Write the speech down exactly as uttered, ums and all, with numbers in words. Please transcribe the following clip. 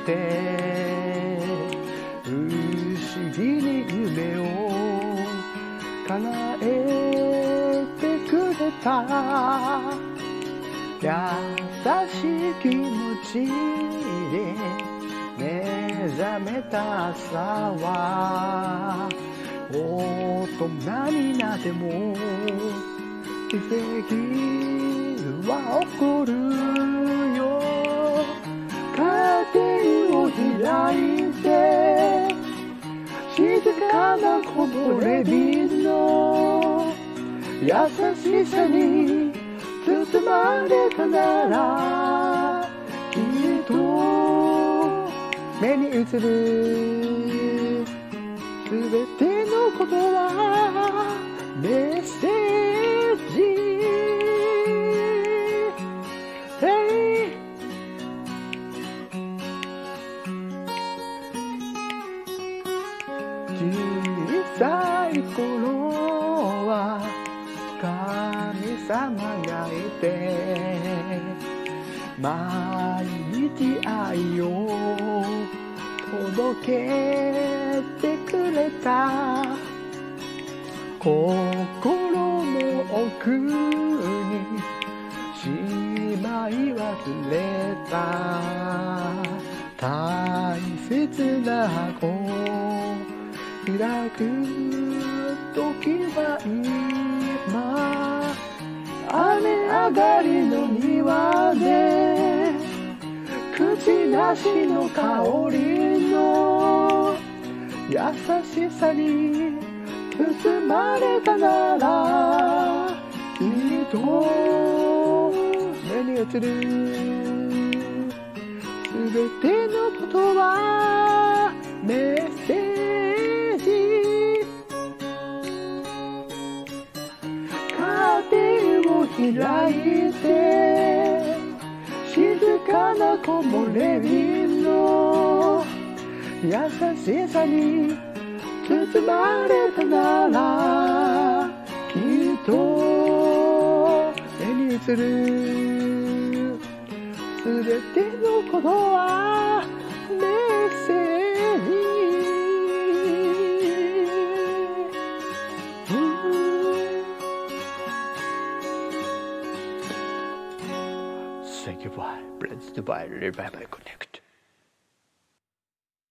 て不思議に夢を叶えてくれた優しい気持ちで目覚めた朝は大人になっても奇跡は起こるよカーテンを開いて静かな木漏れ日の優しさに包まれたならきっと目に映るすべてのことはメッセージ、hey、小さい頃は神様がいて毎日愛を届けてくれた心の奥にしまい忘れた大切な子開く時は今雨上がりの庭で口なしの香りの優しさに包まれたならきっと目に映るすべてのことはメッセージカーテンを開いて静かな木漏れ日の優しさに包まれたならきっと目に映るすべてのことはメッセージ、Thank you, bye. Blessed by Revival Connect.